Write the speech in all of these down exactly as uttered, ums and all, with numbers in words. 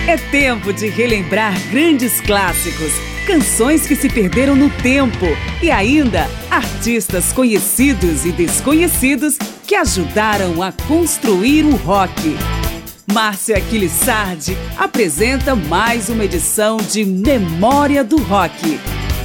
É tempo de relembrar grandes clássicos, canções que se perderam no tempo e ainda artistas conhecidos e desconhecidos que ajudaram a construir o rock. Márcia Aquiles Sardi apresenta mais uma edição de Memória do Rock.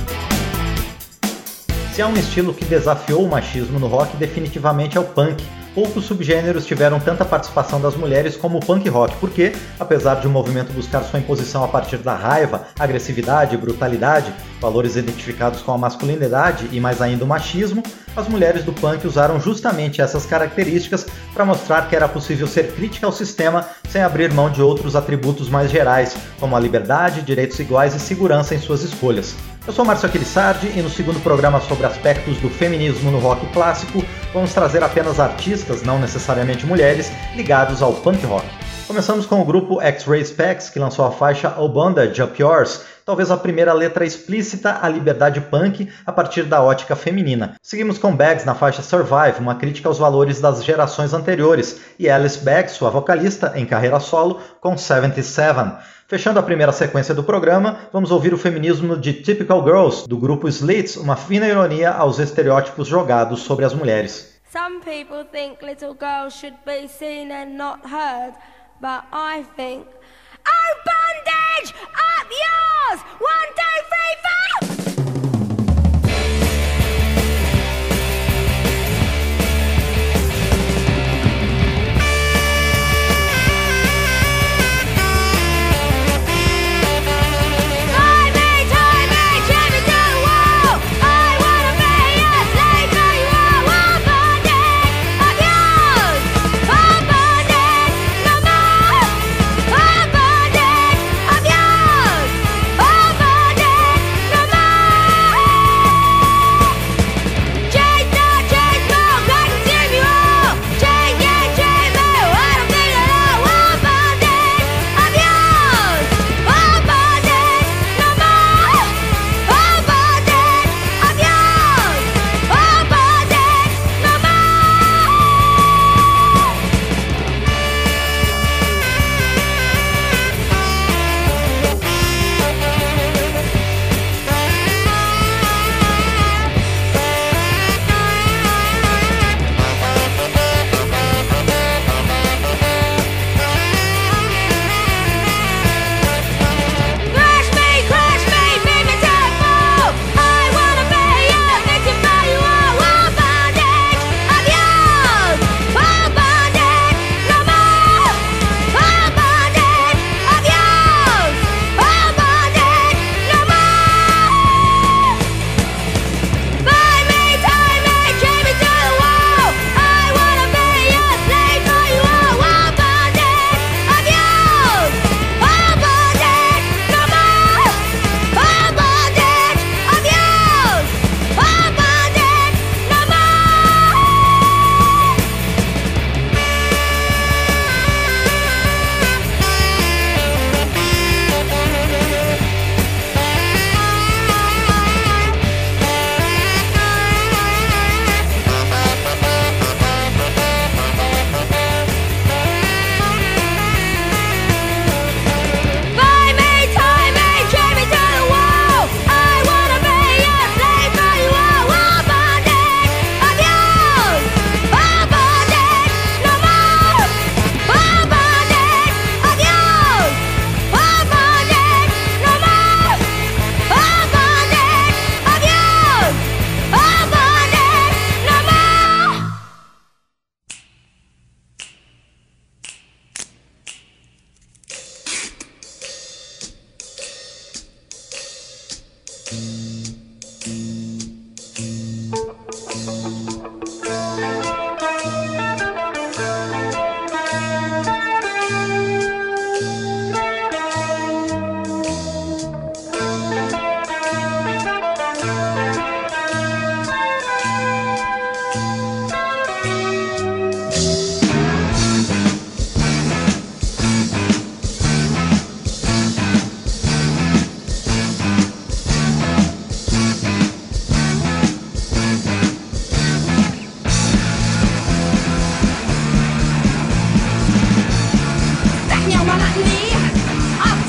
Se há um estilo que desafiou o machismo no rock, definitivamente é o punk. Poucos subgêneros tiveram tanta participação das mulheres como o punk rock, porque, apesar de o movimento buscar sua imposição a partir da raiva, agressividade e brutalidade, valores identificados com a masculinidade e mais ainda o machismo, as mulheres do punk usaram justamente essas características para mostrar que era possível ser crítica ao sistema sem abrir mão de outros atributos mais gerais, como a liberdade, direitos iguais e segurança em suas escolhas. Eu sou Márcio Aquiles Sardi e no segundo programa sobre aspectos do feminismo no rock clássico, vamos trazer apenas artistas, não necessariamente mulheres, ligados ao punk rock. Começamos com o grupo X-Ray Spex, que lançou a faixa Oh Bondage Up Yours, talvez a primeira letra explícita à liberdade punk a partir da ótica feminina. Seguimos com Bags na faixa Survive, uma crítica aos valores das gerações anteriores, e Alice Bags, sua vocalista, em carreira solo, com setenta e sete. Fechando a primeira sequência do programa, vamos ouvir o feminismo de Typical Girls, do grupo Slits, uma fina ironia aos estereótipos jogados sobre as mulheres. Some people think little girls should be seen and not heard, but I think, oh bondage, up yours! One, two, three, four! Back me on my knee.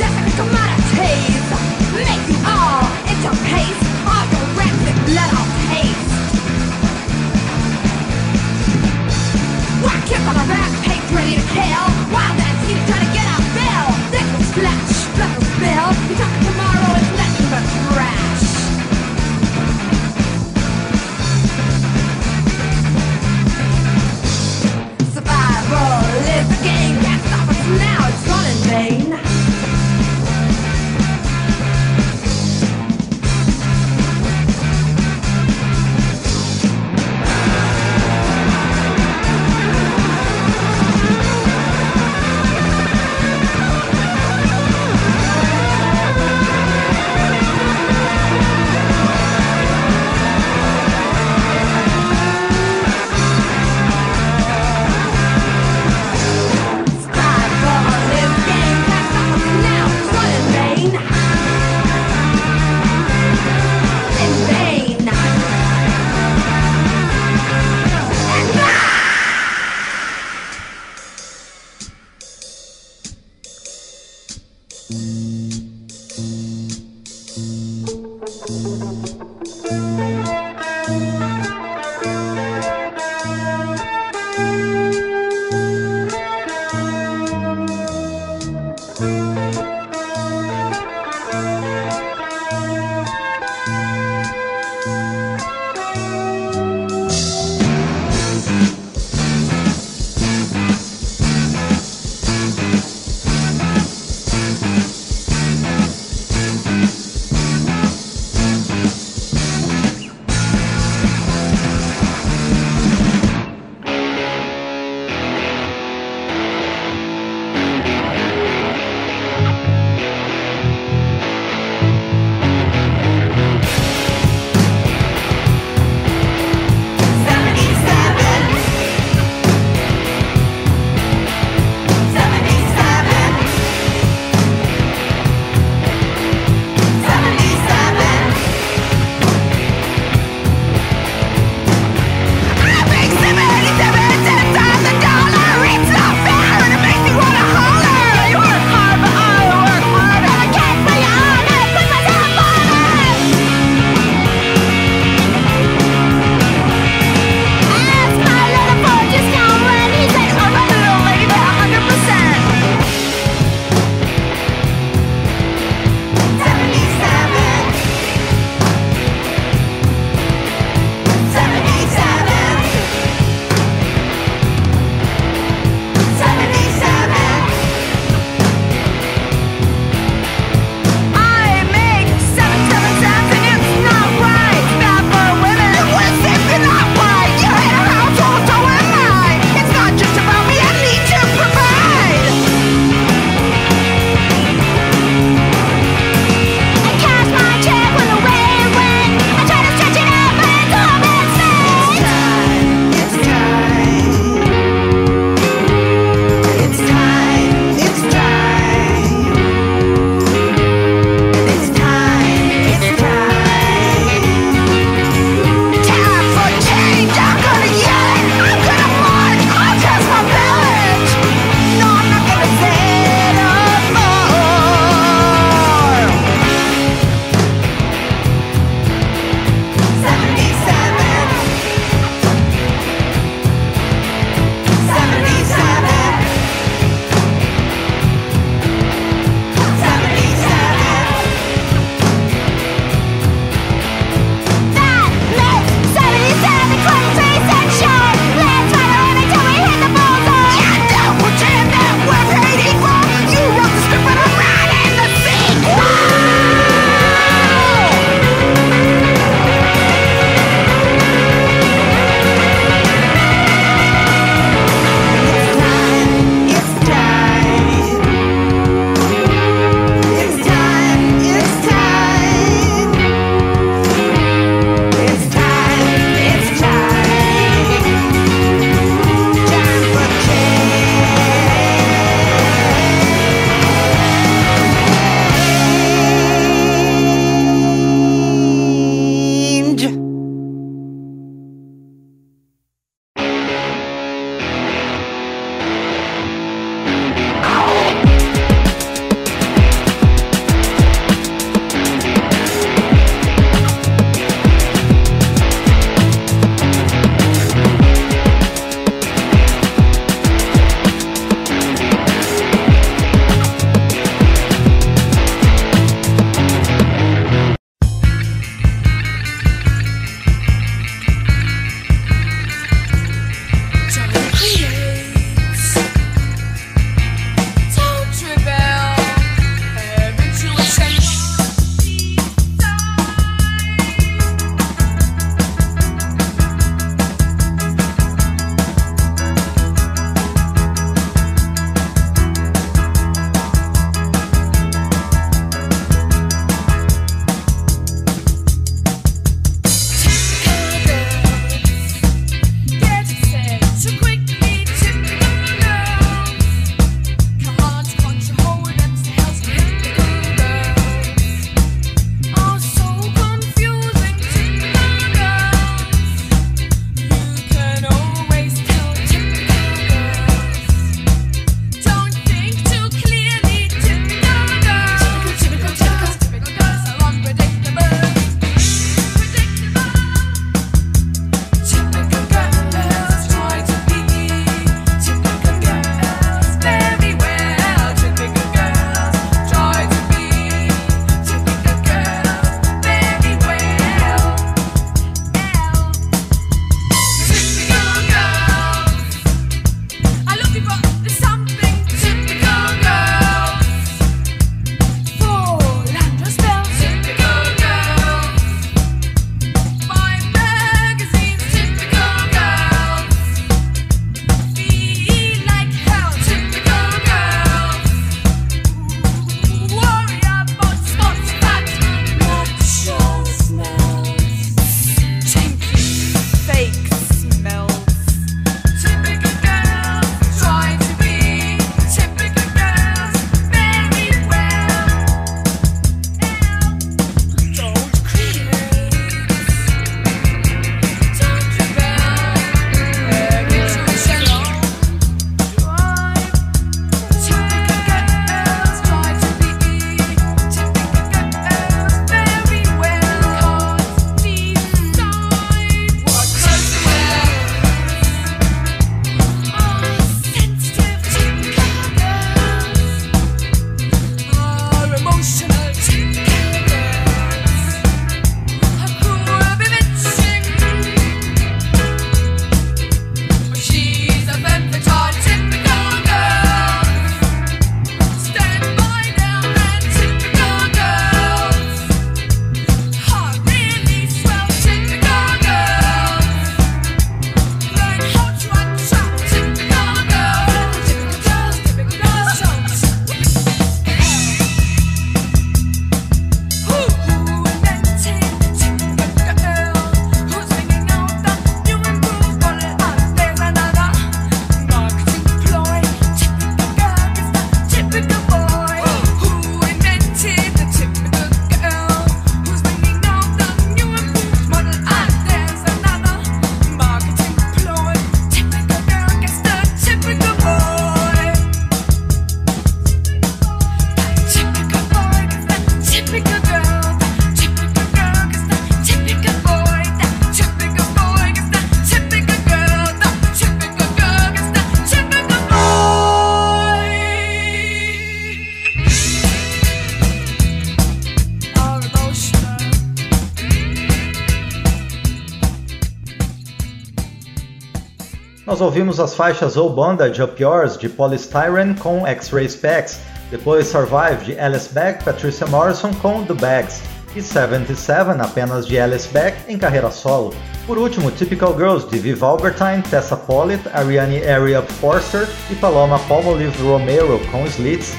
Nós ouvimos as faixas Oh Bondage, Up Yours, de Polystyrene com X-Ray Specs, depois Survive, de Alice Beck, Patricia Morrison com The Bags, e setenta e sete, apenas de Alice Beck, em carreira solo. Por último, Typical Girls, de Viv Albertine, Tessa Pollitt, Ariane Ariap Forster e Paloma Palmolive Romero com Slits.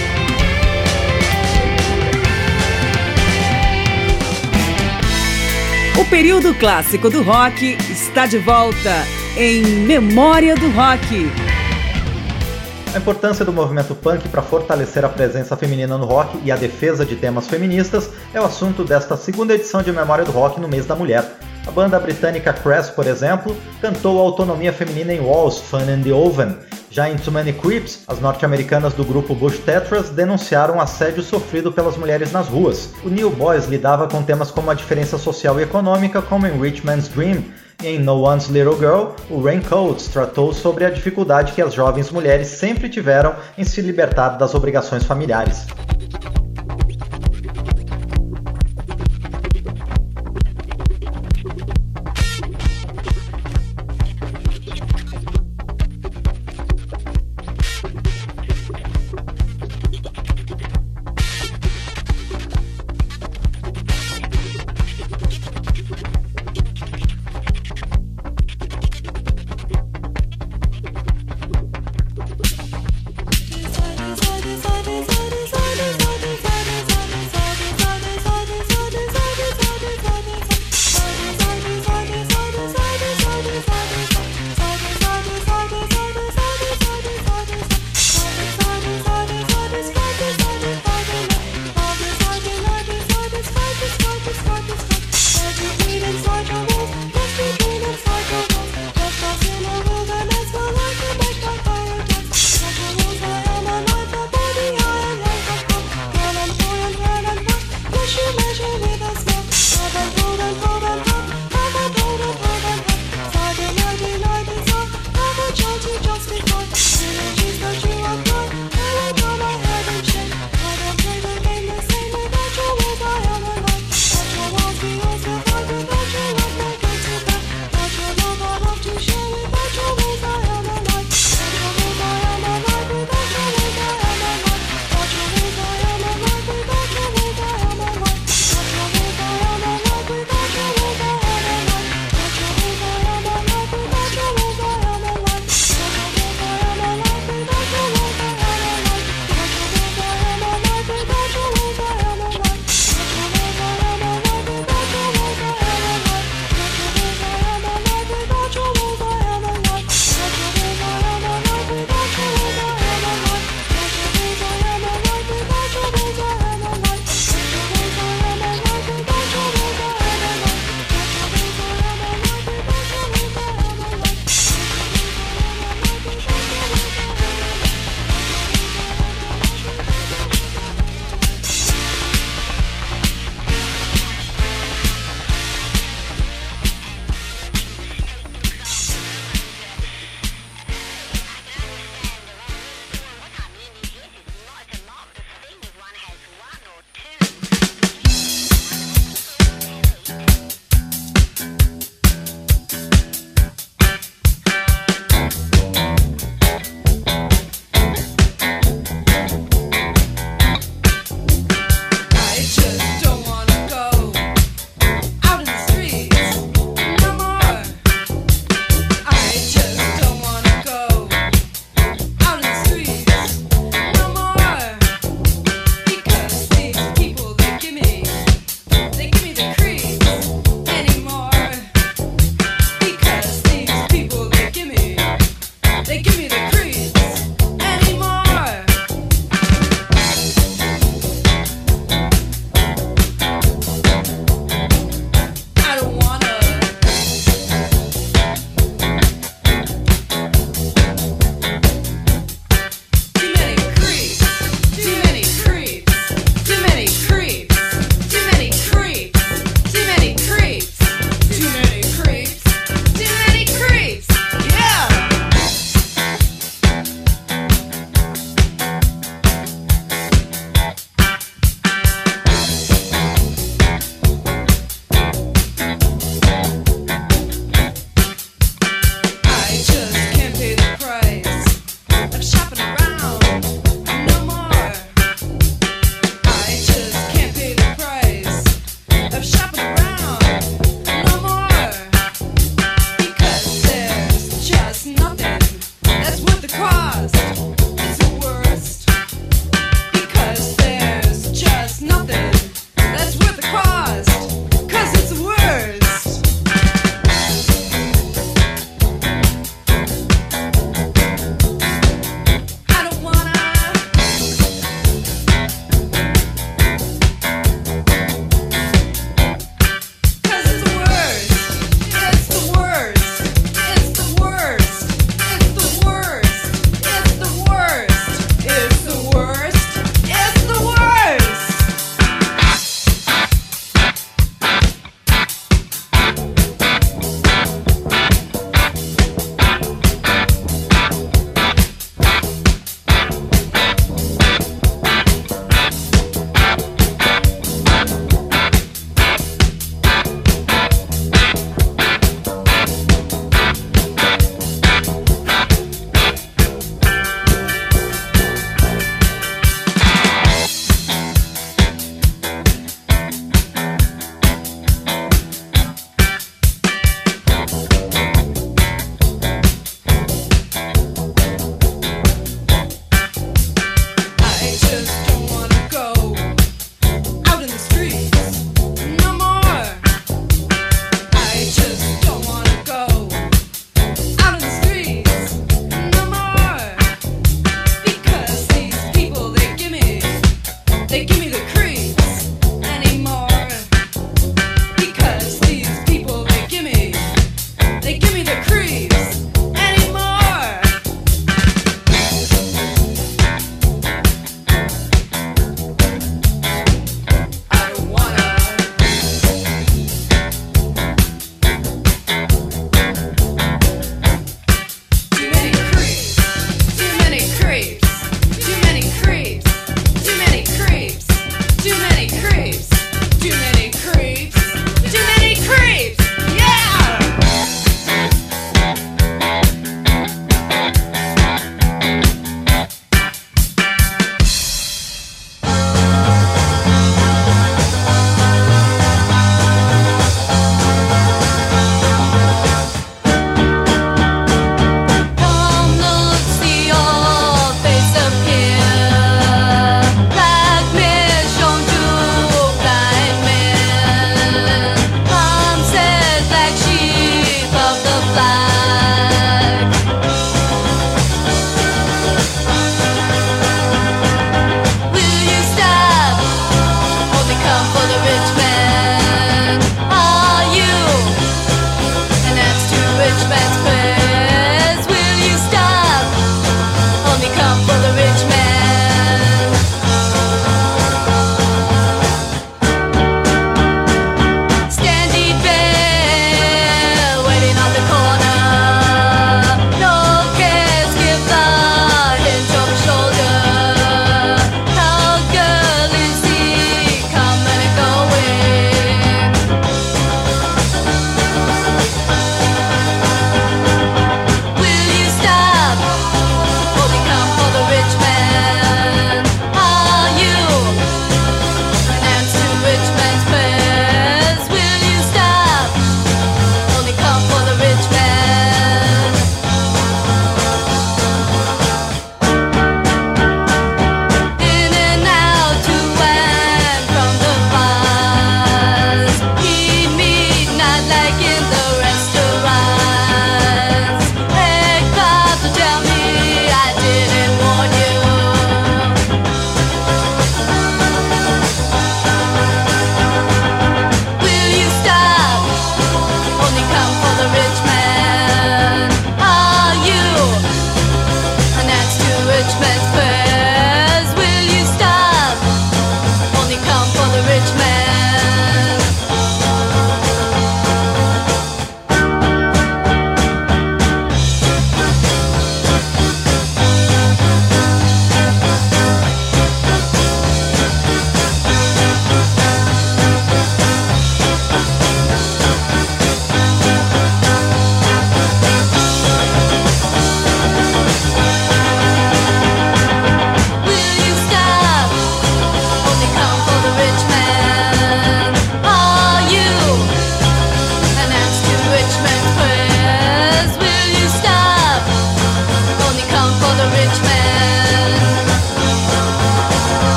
O período clássico do rock está de volta em Memória do Rock. A importância do movimento punk para fortalecer a presença feminina no rock e a defesa de temas feministas é o assunto desta segunda edição de Memória do Rock no mês da mulher. A banda britânica Crass, por exemplo, cantou a autonomia feminina em Walls, Fun and the Oven. Já em Too Many Creeps, as norte-americanas do grupo Bush Tetras denunciaram assédio sofrido pelas mulheres nas ruas. O New Boys lidava com temas como a diferença social e econômica, como em Rich Man's Dream. E em No One's Little Girl, o Raincoats tratou sobre a dificuldade que as jovens mulheres sempre tiveram em se libertar das obrigações familiares. Side, side, side, side, side.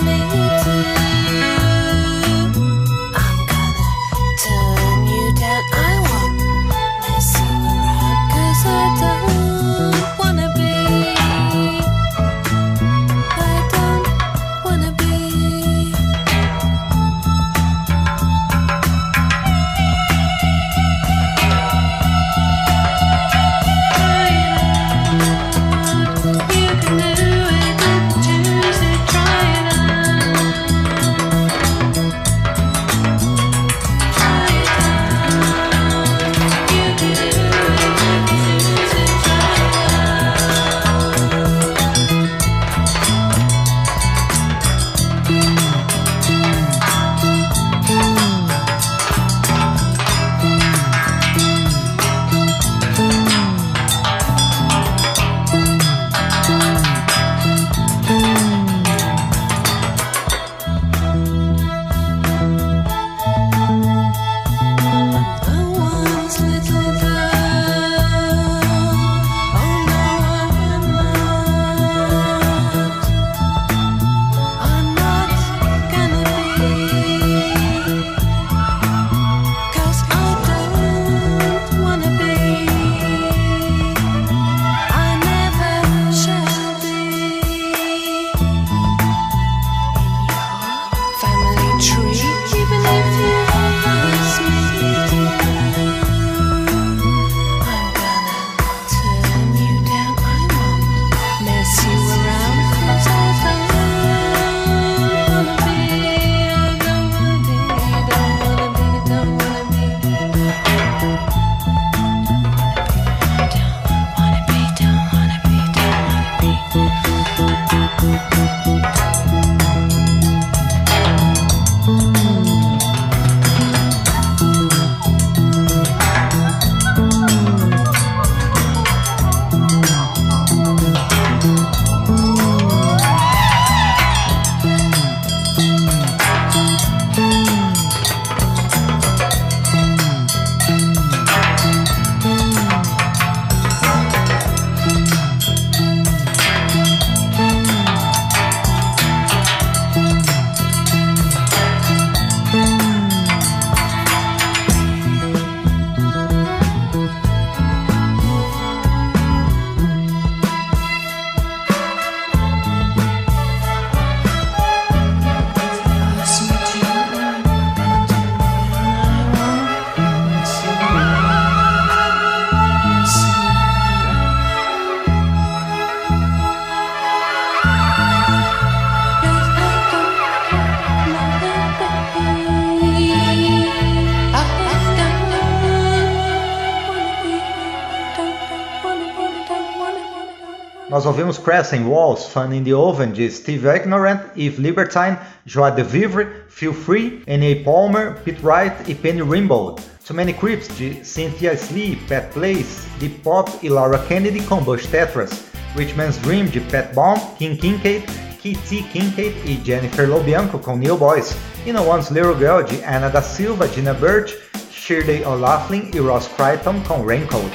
Nós ouvimos Crescent Walls, Fun in the Oven, de Steve Ignorant, Yves Libertine, Joie de Vivre, Feel Free, N A Palmer, Pete Wright e Penny Rimbaud. Too Many Creeps, de Cynthia Slee, Pat Place, Deep Pop e Laura Kennedy com Bush Tetras. Rich Man's Dream, de Pat Bomb, King Kincaid, K T Kincaid e Jennifer Lobianco com New Boys. E No One's Little Girl, de Anna da Silva, Gina Birch, Shirley O'Laughlin e Ross Crichton com Raincoat.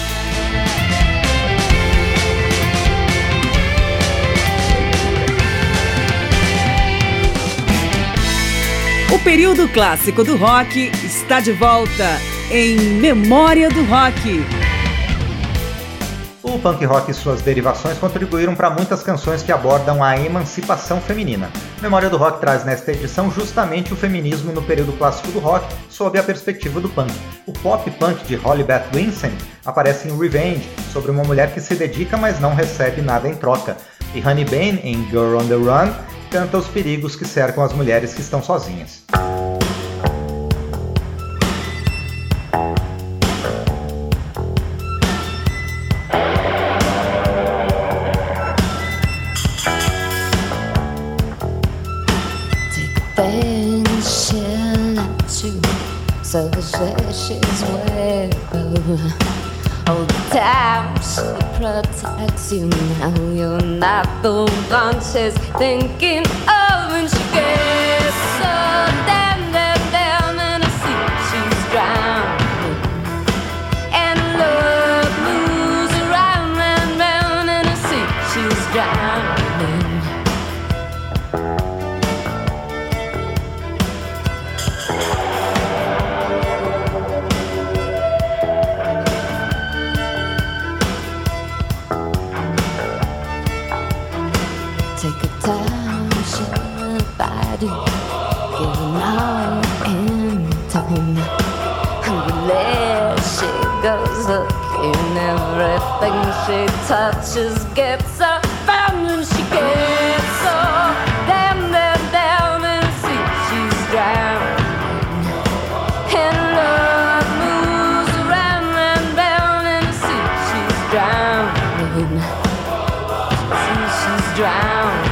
O período clássico do rock está de volta em Memória do Rock. O punk rock e suas derivações contribuíram para muitas canções que abordam a emancipação feminina. Memória do Rock traz nesta edição justamente o feminismo no período clássico do rock, sob a perspectiva do punk. O pop punk de Holly Beth Vincent aparece em Revenge, sobre uma mulher que se dedica mas não recebe nada em troca. E Honey Bane, em Girl on the Run, canta os perigos que cercam as mulheres que estão sozinhas. So she's wearable. All the time she protects you. Now you're not the one she's thinking of. When she gets so damn, damn, damn, and I see she's drowning. And love moves around and round, and I see she's drowning. do, giving all in time. And there she goes, looking, everything she touches gets her found, and she gets so down, down, down, and see she's drowning. And love moves around and down, and see she's drowning. See she's drowning.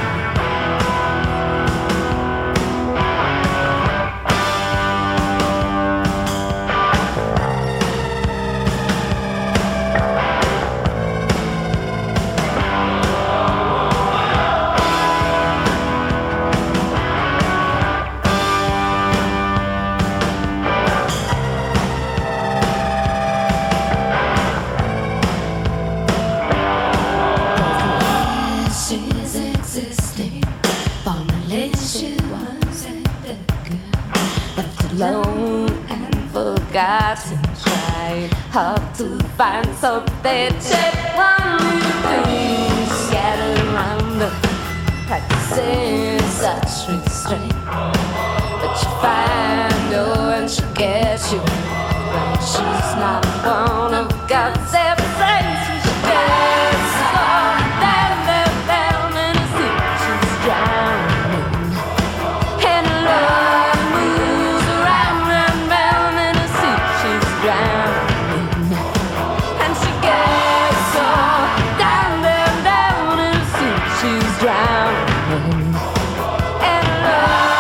Alone and forgotten, trying hard to find something. Check one little thing scattered around her, practicing such restraint. But you find her and she gets you when she's not one of God's saints. She gets so down, down, down, and I think she's drowning. And love moves around and round, and I see she's drowning. And she gets so down, down, down, and I see she's drowning. And love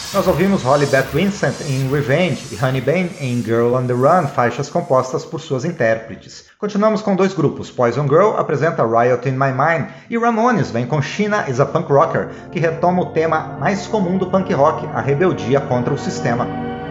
Nós ouvimos Holly Beth Vincent em Revenge e Honey Bane em Girl on the Run, faixas compostas por suas intérpretes. Continuamos com dois grupos. Poison Girl apresenta Riot in My Mind e Ramones vem com Sheena is a Punk Rocker, que retoma o tema mais comum do punk rock, a rebeldia contra o sistema.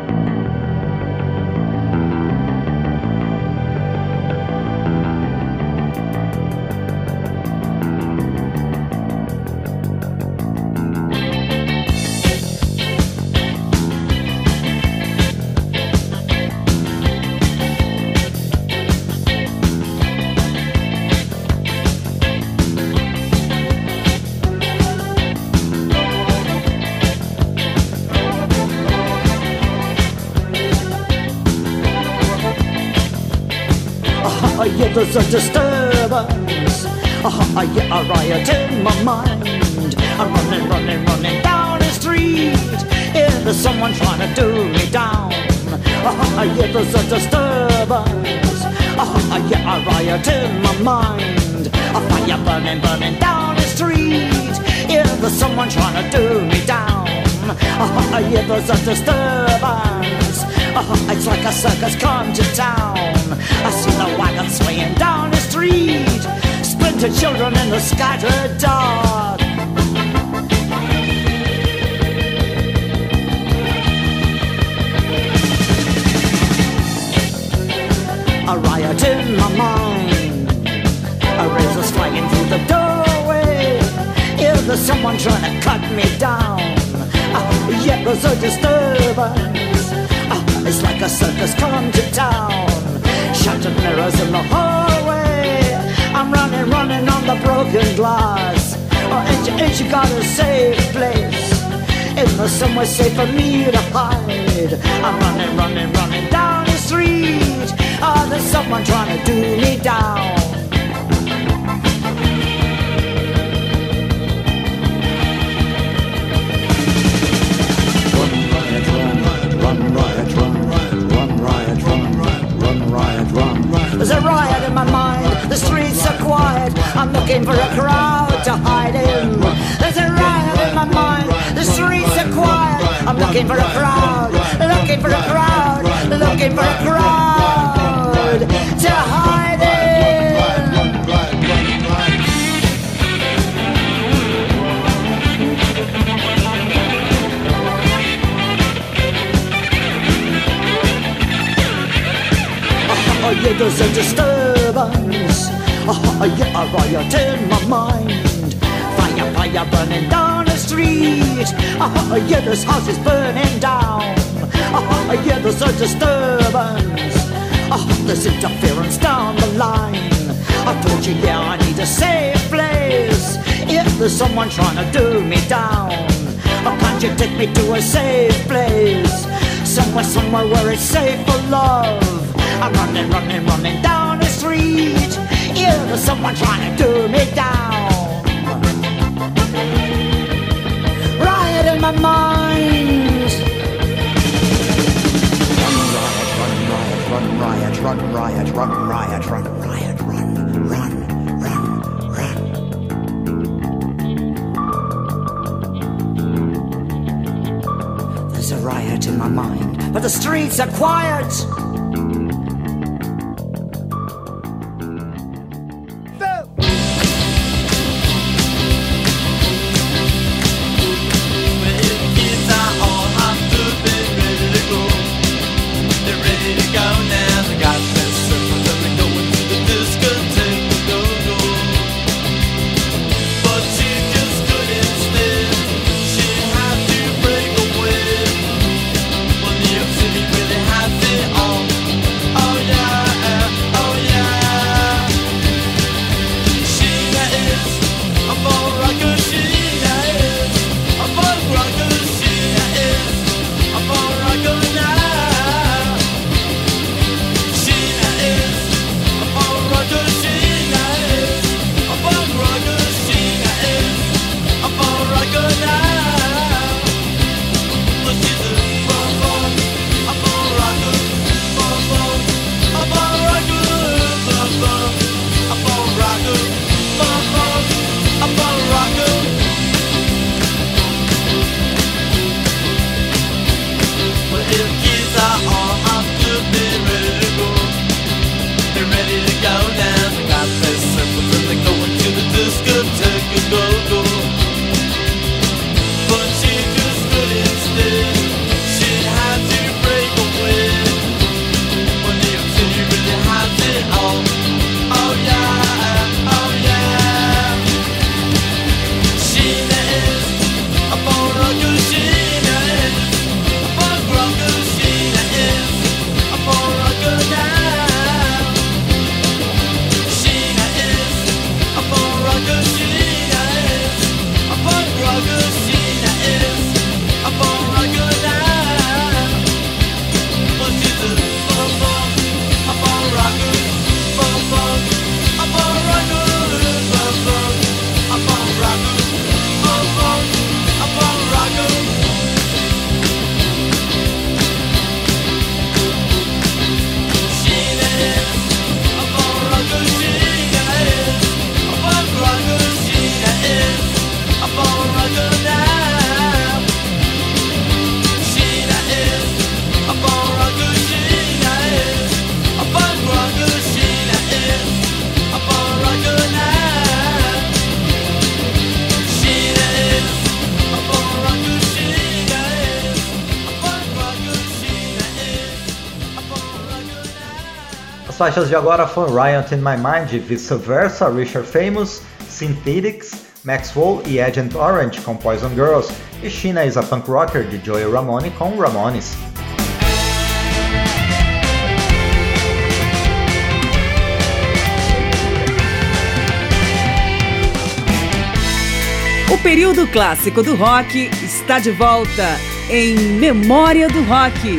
There's a disturbance, oh, I get a riot in my mind. I'm running, running, running down the street. Yeah, there's someone trying to do me down. Oh, yeah, there's a disturbance, oh, I get a riot in my mind. A fire burning, burning down the street. Yeah, there's someone trying to do me down. Oh, yeah, there's a disturbance. Oh, it's like a circus come to town. I see the wagon swaying down the street, splintered children in the scattered dark. A riot in my mind, a razor's flying through the doorway. Yeah, there's someone trying to cut me down. Uh, yeah, there's a disturbance. Uh, it's like a circus come to town. Shattered mirrors in the hallway. I'm running, running on the broken glass. Oh, ain't you, ain't you got a safe place? Is there somewhere safe for me to hide? I'm running, running, running down the street. Oh, there's someone trying to do me down. There's a riot in my mind, the streets are quiet. I'm looking for a crowd to hide in. There's a riot in my mind, the streets are quiet. I'm looking for a crowd, looking for a crowd, looking for a crowd to hide in. Oh yeah, there's a disturbance. Oh yeah, a riot in my mind. Fire, fire burning down the street. Oh yeah, this house is burning down. Oh yeah, there's a disturbance. Oh, there's interference down the line. I told you, yeah, I need a safe place. If there's someone trying to do me down, oh, can't you take me to a safe place? Somewhere, somewhere where it's safe for love. I'm running, running, running down the street. Yeah, there's someone trying to do me down. Riot in my mind. Run riot, run riot, run riot, run riot, run, run, run, run. There's a riot in my mind, but the streets are quiet. As faixas de agora foram Riot in My Mind, Vice Versa, Richard Famous, Synthetics, Maxwell e Agent Orange com Poison Girls, e Sheena is a Punk Rocker de Joey Ramone com Ramones. O período clássico do rock está de volta em Memória do Rock.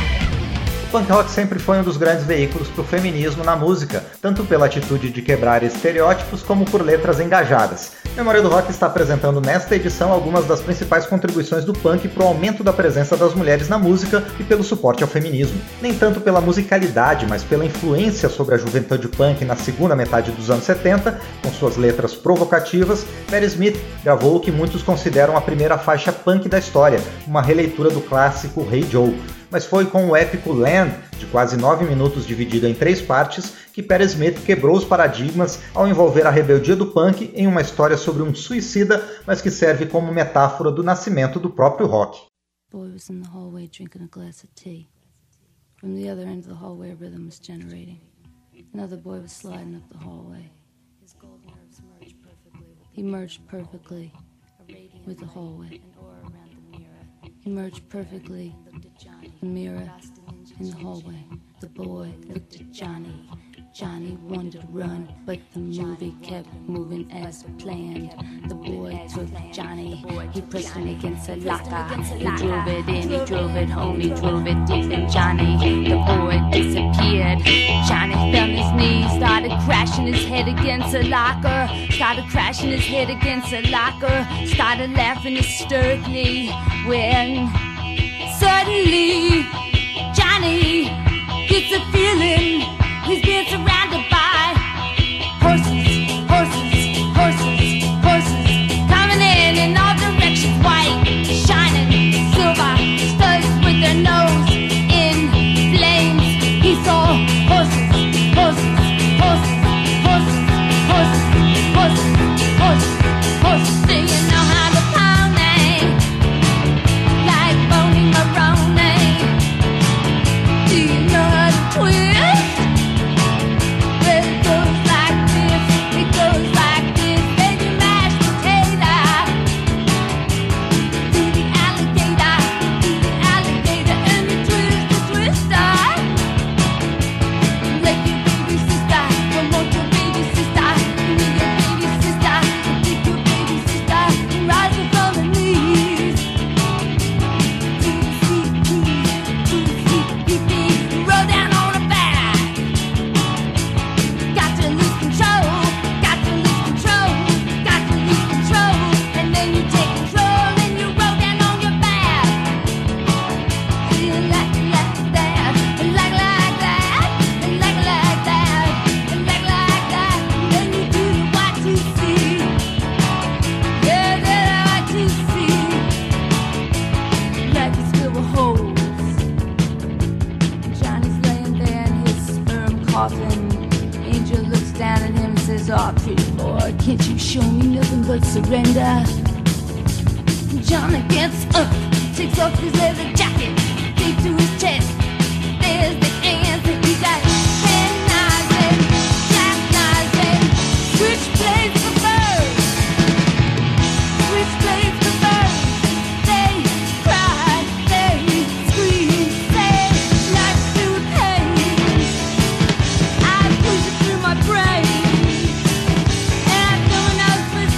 O punk rock sempre foi um dos grandes veículos para o feminismo na música, tanto pela atitude de quebrar estereótipos como por letras engajadas. Memória do Rock está apresentando nesta edição algumas das principais contribuições do punk para o aumento da presença das mulheres na música e pelo suporte ao feminismo. Nem tanto pela musicalidade, mas pela influência sobre a juventude punk na segunda metade dos anos setenta, com suas letras provocativas, Patti Smith gravou o que muitos consideram a primeira faixa punk da história, uma releitura do clássico Hey Joe. Mas foi com o épico Land, de quase nove minutos dividido em três partes, que Patti Smith quebrou os paradigmas ao envolver a rebeldia do punk em uma história sobre um suicida, mas que serve como metáfora do nascimento do próprio rock. Boy was in the hallway drinking a glass of tea. From the other end of the hallway, a rhythm was generating. Another boy was sliding up the hallway. His gold nerves merged perfectly. He merged perfectly with the hallway. He merged perfectly. The mirror in the hallway. The boy looked at Johnny. Johnny wanted to run, but the movie kept moving as planned. The boy took Johnny. He pressed him against a locker. He drove it in, he drove it home, he drove it deep in Johnny. The boy disappeared. Johnny fell on his knees, started crashing his head against a locker. Started crashing his head against a locker. Started laughing hysterically when suddenly Johnny gets a feeling he's being surrounded by horses, horses, horses, horses, coming in in all directions, white, shining, silver, studs with their nose in flames. He saw horses, horses, horses, horses, horses, horses, horses, horses. Do you know how to pound me? Like Boney Maroney. Do you know how to twist? Surrender. Johnny gets up, takes off his leather jacket, deep to his chest. There's the answer. He got ten knives and jackknives and switchblades for birds. Switchblades for birds. They cry, they scream, they like to pain. I push it through my brain.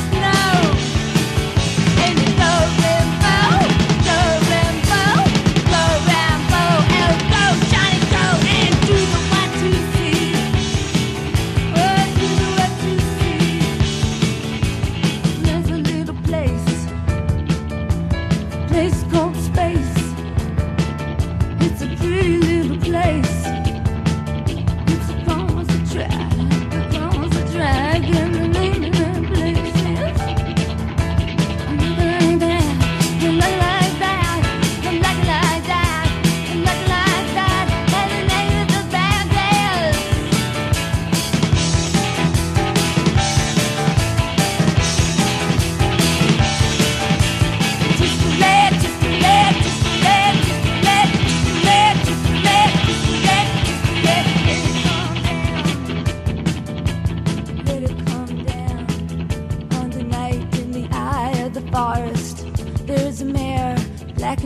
Blow,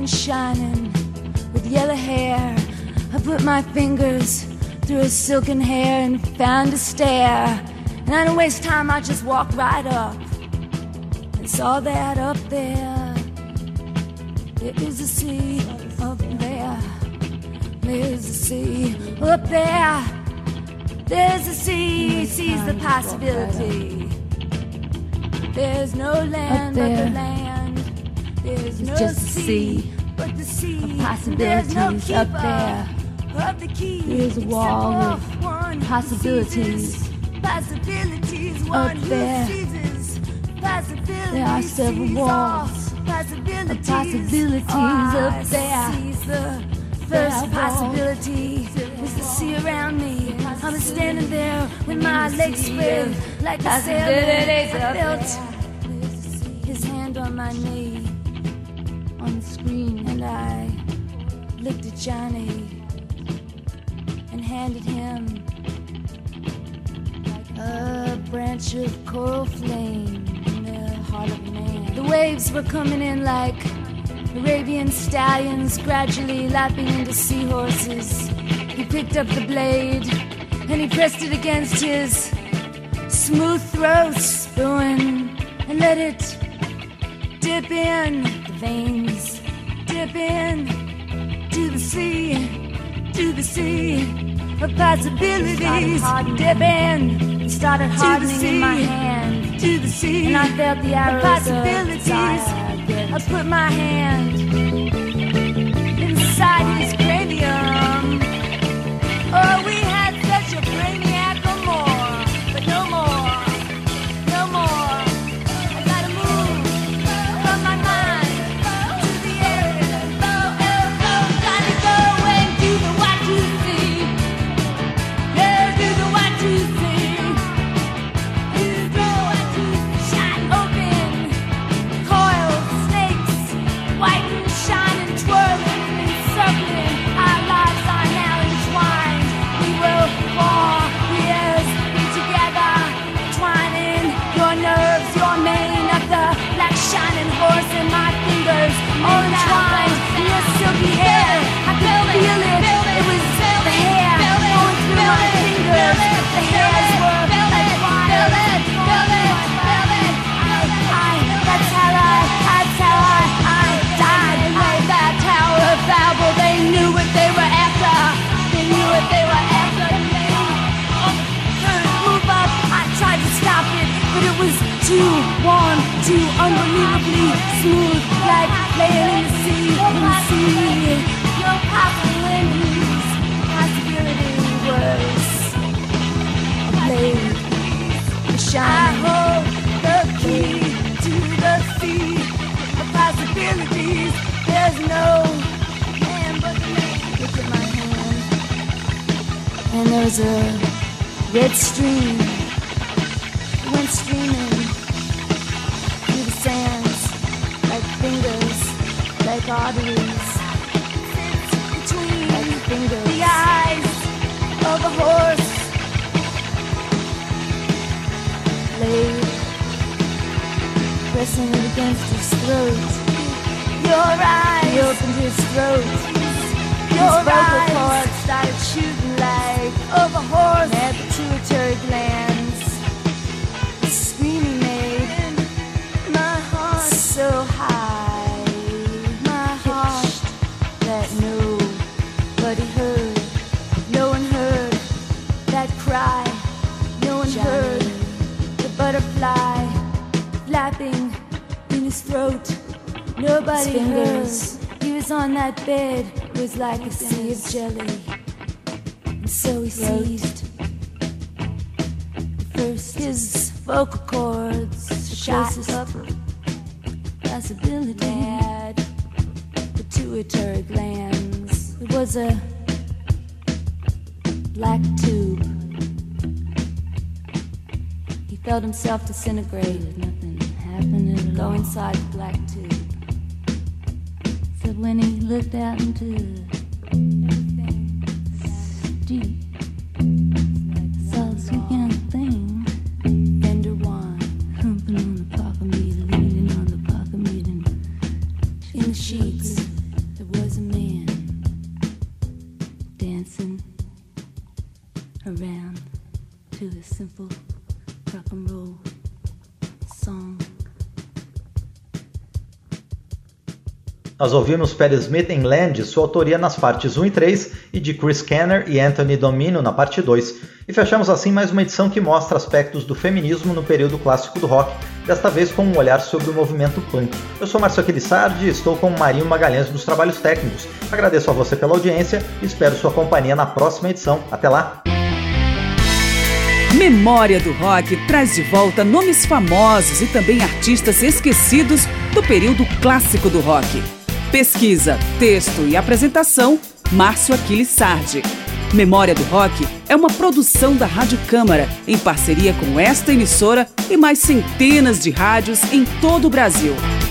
and shining with yellow hair. I put my fingers through her silken hair and found a stair. And I didn't waste time, I just walked right up and saw that up there. There is a sea up there. There's a sea up there. There's a sea, sees the possibility. There's no land but the land. There's no sea but the sea. Possibilities up there. There's a wall of possibilities. Possibilities up there. There are several walls of possibilities up there. First possibility was to see around me. I was standing there with my legs spread like a sailor. I felt his hand on my knee on the screen, and I looked at Johnny and handed him a branch of coral flame in the heart of a man. The waves were coming in like Arabian stallions, gradually lapping into seahorses. He picked up the blade and he pressed it against his smooth throat, spewing, and let it dip in the veins, dip in to the sea, to the sea of possibilities. Dip in, it started hardening in my hand, to the sea, and I felt the arrows of possibilities. I put my hand inside his cranium. Oh, we had such a brainiac or more, but no more, no more. I gotta move from my mind to the air. Gotta go and do the what you see. Yeah, do the what you see. Do the what you see. Shine open, coils, snakes, white and shining, twirling and circling. Our lives are now entwined. We will for years be together, twining your nerves, your mane of the black shining horse in my fingers, all entwined in your silky hair. I could feel it. It was the hair going through my fingers. The hairs were like wine. Feel it, feel it, feel it. I, that's how I, that's how I, I died in that Tower of Babel. They knew what they were after. They knew what they were after. Couldn't move up. I tried to stop it, but it was too warm, too unbelievably smooth, like laying in the sea, in the sea. No possibilities. Possibility was a blade, a shine. I hold the key to the sea of possibilities. There's no man but the man. Look at my hand, and there's a red stream. It went streaming through the sands like fingers, like arteries. Between like fingers, the eyes of a horse. Blade pressing it against his throat. Your eyes, he opened his throat. Your his vocal cords started shooting like of a horse. Had pituitary glands. The scream he made, my heart so high, my heart that nobody heard. No one heard that cry. No one Johnny. Heard the butterfly flapping in his throat. Nobody heard. He was on that bed. It was like a sea of jelly. And so he seized. First his vocal cords shot up. Possibility had pituitary glands. It was a black tube. He felt himself disintegrate. Nothing happened at all. Go inside the black tube. Except when he looked out into deep, saw a sweet young thing, Fender wine, humping on the pocket meter, leaning on the pocket meter, in the sheets, simple rock and roll song. Nós ouvimos Patti Smith em Land, sua autoria nas partes um e três, e de Chris Kenner e Anthony Domino na parte dois. E fechamos assim mais uma edição que mostra aspectos do feminismo no período clássico do rock, desta vez com um olhar sobre o movimento punk. Eu sou Márcio Aquilissardi e estou com o Marinho Magalhães dos Trabalhos Técnicos. Agradeço a você pela audiência e espero sua companhia na próxima edição. Até lá! Memória do Rock traz de volta nomes famosos e também artistas esquecidos do período clássico do rock. Pesquisa, texto e apresentação, Márcio Aquilissardi. Memória do Rock é uma produção da Rádio Câmara, em parceria com esta emissora e mais centenas de rádios em todo o Brasil.